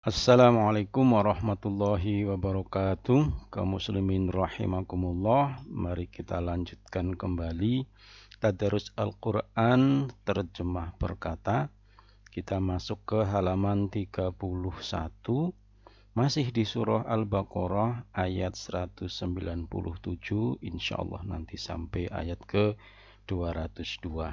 Assalamualaikum warahmatullahi wabarakatuh. Kaum muslimin rahimakumullah. Mari kita lanjutkan kembali tadarus Al-Quran terjemah perkata. Kita masuk ke halaman 31. Masih di surah Al-Baqarah ayat 197. Insyaallah nanti sampai ayat ke 202.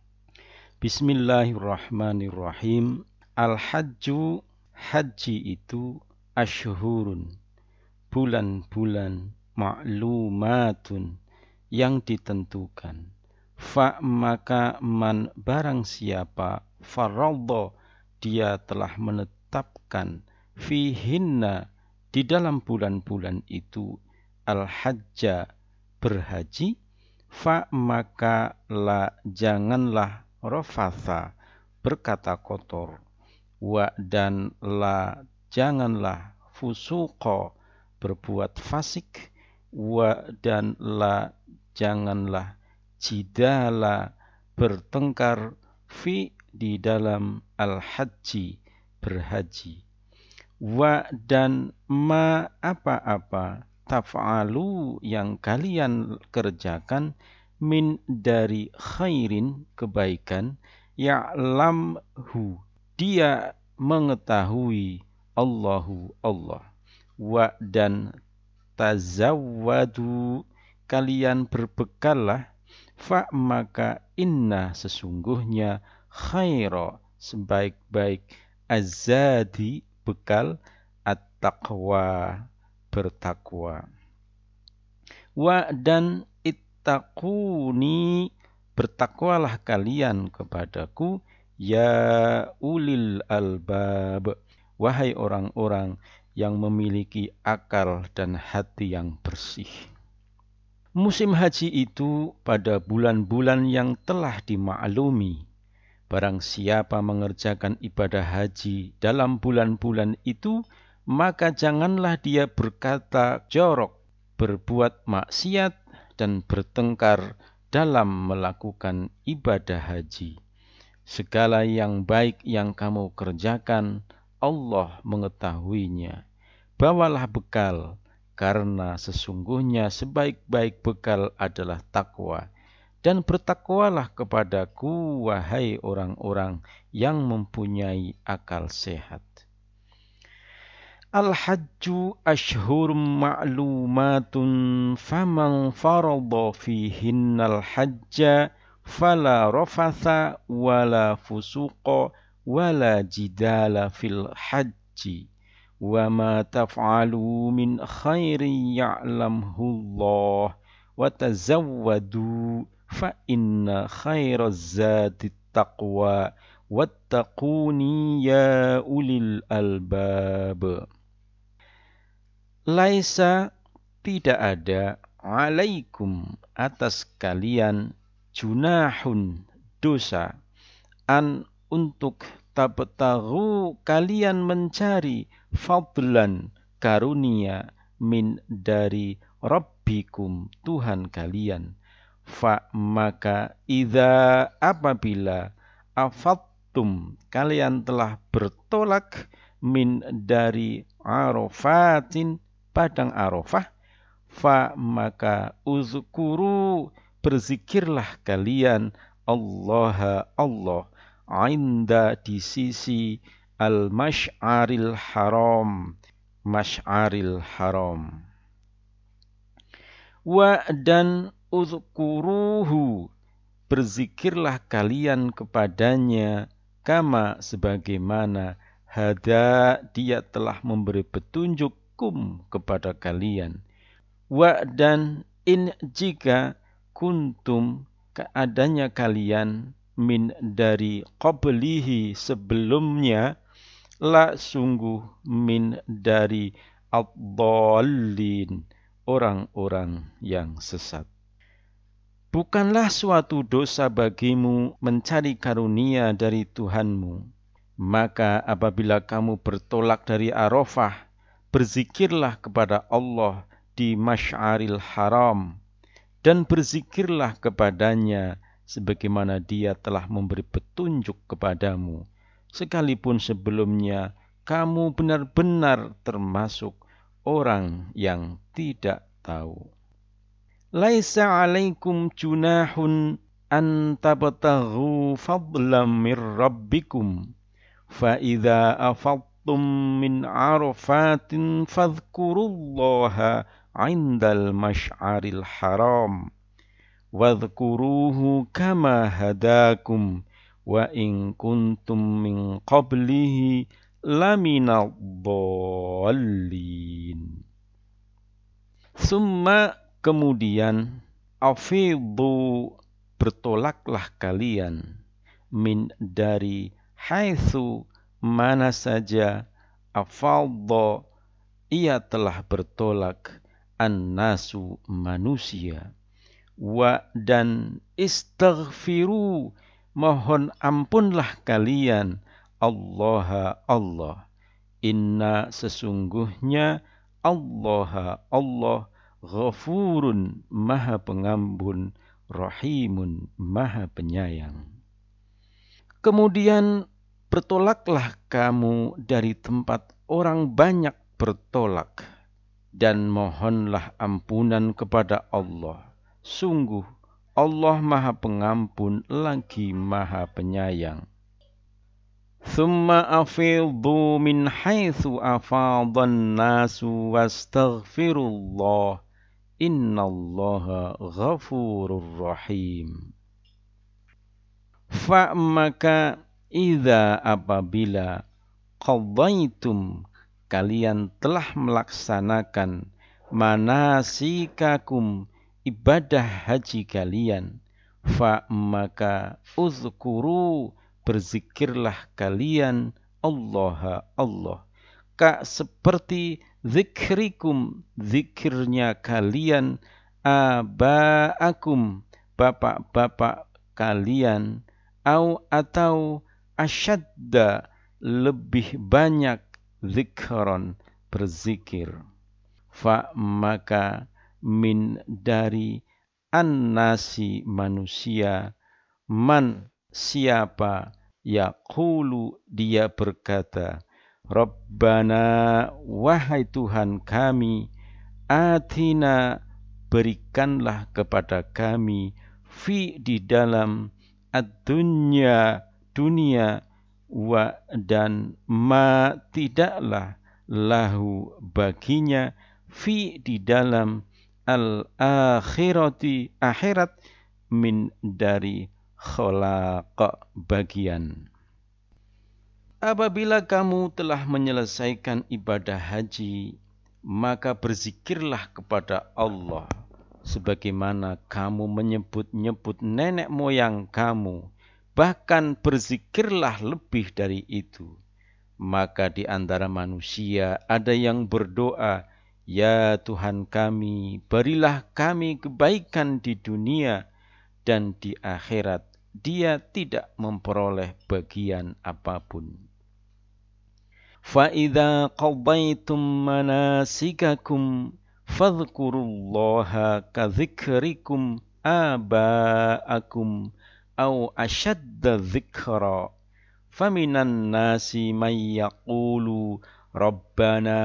Bismillahirrahmanirrahim. Al-Hajju, haji itu asyhurun, bulan-bulan, ma'lumatun, yang ditentukan. Fa maka man barang siapa faradha dia telah menetapkan fihinna di dalam bulan-bulan itu al-hajja berhaji, fa maka la janganlah rafatha berkata kotor, wa dan la janganlah fusuqa berbuat fasik, wa dan la janganlah jidala bertengkar fi di dalam al-haji berhaji, wa dan ma apa-apa taf'alu yang kalian kerjakan min dari khairin kebaikan, ya'lamhu dia mengetahui Allahu Allah, wa dan tazawwadu kalian berbekallah, fa maka inna sesungguhnya khaira sebaik-baik azadi bekal at-taqwa bertakwa, wa dan ittaquni bertakwalah kalian kepadaku ya ulil albab wahai orang-orang yang memiliki akal dan hati yang bersih. Musim haji itu pada bulan-bulan yang telah dimaklumi. Barang siapa mengerjakan ibadah haji dalam bulan-bulan itu, maka janganlah dia berkata jorok, berbuat maksiat, dan bertengkar dalam melakukan ibadah haji. Segala yang baik yang kamu kerjakan, Allah mengetahuinya. Bawalah bekal, karena sesungguhnya sebaik-baik bekal adalah takwa. Dan bertakwalah kepadaku, wahai orang-orang yang mempunyai akal sehat. Al-hajju ashhurum ma'lumatun faman farada fihinnal hajja fala rafatha wala fusuqa wala jidala fil hajji wa ma taf'alu min khairin ya'lamhullah wa tazawwadu fa inna khairaz zati taqwa wattaquni ya ulil albab. Laisa tidak ada alaikum atas kalian junahun dosa an untuk tabtaghu kalian mencari fadlan karunia min dari rabbikum Tuhan kalian, fa maka idza apabila afattum kalian telah bertolak min dari arafatin padang Arafah, fa maka uzkuru berzikirlah kalian Allah inda di sisi al-masy'aril haram, masy'aril haram, wa dan uzkuruhu berzikirlah kalian kepadanya kama sebagaimana hada dia telah memberi petunjuk kepada kalian, wa dan in jika kuntum keadanya kalian min dari qablihi sebelumnya la sungguh min dari ad-dallin orang-orang yang sesat. Bukanlah suatu dosa bagimu mencari karunia dari Tuhanmu. Maka apabila kamu bertolak dari Arafah, berzikirlah kepada Allah di Masy'aril Haram, dan berzikirlah kepadanya sebagaimana dia telah memberi petunjuk kepadamu, sekalipun sebelumnya kamu benar-benar termasuk orang yang tidak tahu. Laisa alaikum junahun an tabtaghu fadlam mir rabbikum fa idza afadtum min arafatin fadhkurullaha 'indal masy'aril haram wadhkuruhu kama hadakum wa in kuntum min qablihi laminad dhallin. Summa kemudian afidhu bertolaklah kalian min dari haitsu mana saja afadha ia telah bertolak annasu manusia wa dan istaghfiru mohon ampunlah kalian Allah inna sesungguhnya Allah ghafurun maha pengampun rahimun maha penyayang. Kemudian bertolaklah kamu dari tempat orang banyak bertolak dan mohonlah ampunan kepada Allah. Sungguh Allah maha pengampun lagi maha penyayang. Thumma afidhu min haitsu afadhan nasu wastaghfirullah innallaha ghafurur rahim. Fa maka idza apabila qadaitum kalian telah melaksanakan manasikakum ibadah haji kalian fa maka uzkuru berzikirlah kalian Allah ka seperti zikrikum zikirnya kalian abaakum bapak-bapak kalian atau asyadda lebih banyak zikron berzikir fa maka min dari annasi manusia man siapa yaqulu dia berkata Rabbana wahai Tuhan kami atina berikanlah kepada kami fi di dalam ad-dunya dunia wa dan ma tidaklah lahu baginya fi di dalam al-akhirati akhirat min dari khalaq bagian. Apabila kamu telah menyelesaikan ibadah haji, maka berzikirlah kepada Allah sebagaimana kamu menyebut-nyebut nenek moyang kamu, bahkan berzikirlah lebih dari itu. Maka di antara manusia ada yang berdoa, ya Tuhan kami, berilah kami kebaikan di dunia dan di akhirat dia tidak memperoleh bagian apapun. Fa idza qadaitum manasikakum fadhkurullaha ka dzikrikum abaakum au ashadda dzikra faminan nasi may yaqulu rabbana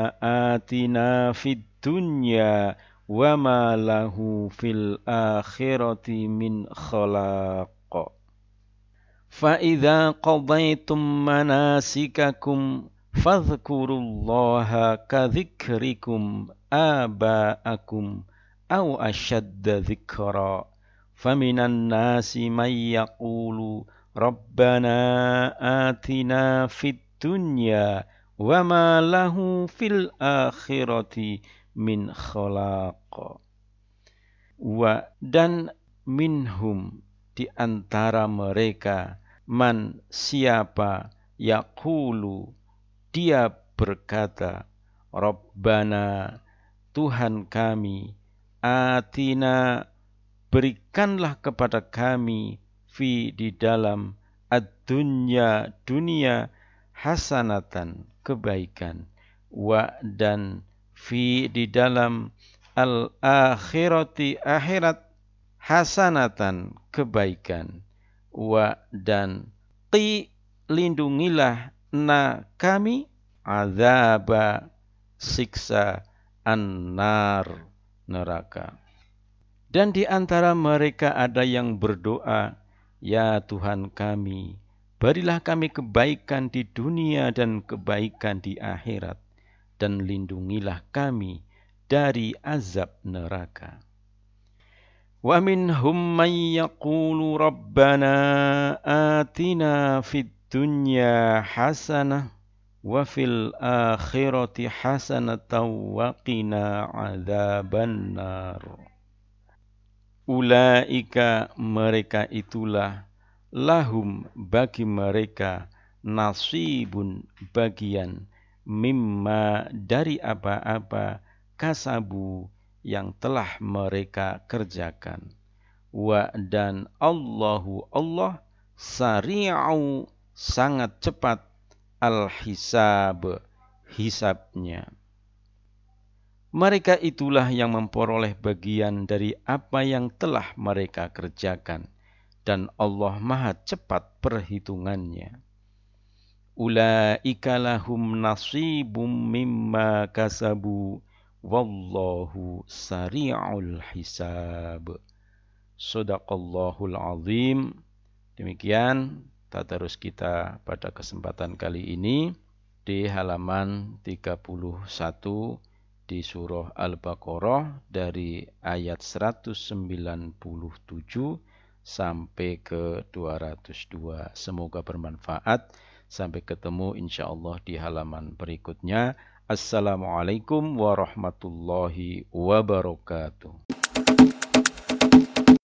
atina fid dunya wa ma lahu fil akhirati min khalaq. Fa idza qadaitum manasikakum fadhkurullaha ka dzikrikum abaakum au ashadda dzikra faminan nasi may yaqulu rabbana atina fid dunya wa ma lahu fil akhirati min khalaq. Wa dan minhum di antara mereka man siapa yaqulu dia berkata Rabbana Tuhan kami atina berikanlah kepada kami fi di dalam ad-dunya dunia hasanatan kebaikan wa dan fi di dalam al-akhirati akhirat hasanatan kebaikan wa dan qi lindungilah kami azaba siksa an-nar neraka. Dan di antara mereka ada yang berdoa, ya Tuhan kami, berilah kami kebaikan di dunia dan kebaikan di akhirat, dan lindungilah kami dari azab neraka. Wa minhum man yaqulu rabbana atina fid dunya hasanah wa fil akhirati hasanatan wa qina adzabannar. Ulaika mereka itulah lahum bagi mereka nasibun bagian mimma dari apa-apa kasabu yang telah mereka kerjakan. Wa dan Allahu Allah sari'u sangat cepat al-hisab hisabnya. Mereka itulah yang memperoleh bagian dari apa yang telah mereka kerjakan, dan Allah Maha cepat perhitungannya. Ulaika lahum nasibum mimma kasabu wallahu sari'ul hisab. Shadaqallahul azim. Demikian tadarus kita pada kesempatan kali ini di halaman 31 di surah Al-Baqarah dari ayat 197 sampai ke 202. Semoga bermanfaat. Sampai ketemu insyaallah di halaman berikutnya. Assalamualaikum warahmatullahi wabarakatuh.